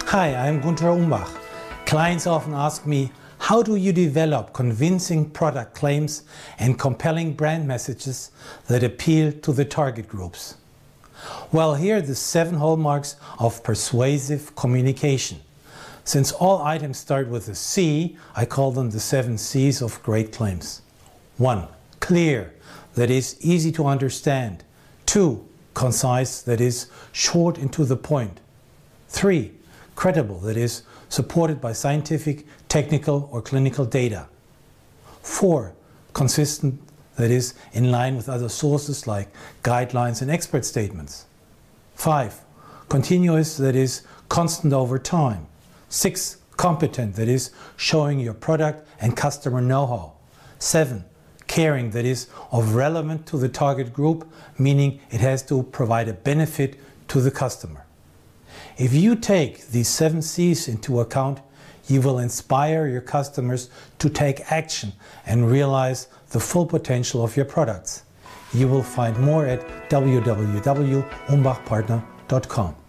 Hi, I'm Gunter Umbach. Clients often ask me, how do you develop convincing product claims and compelling brand messages that appeal to the target groups? Well, here are the 7 hallmarks of persuasive communication. Since all items start with a C, I call them the 7 C's of great claims. 1. Clear, that is easy to understand. 2. Concise, that is short and to the point. 3. Credible, that is supported by scientific, technical or clinical data. 4. Consistent, that is in line with other sources like guidelines and expert statements. 5. Continuous, that is constant over time. 6. Competent, that is showing your product and customer know-how. 7. Caring, that is of relevant to the target group, meaning it has to provide a benefit to the customer. If you take these 7 C's into account, you will inspire your customers to take action and realize the full potential of your products. You will find more at www.umbachpartner.com.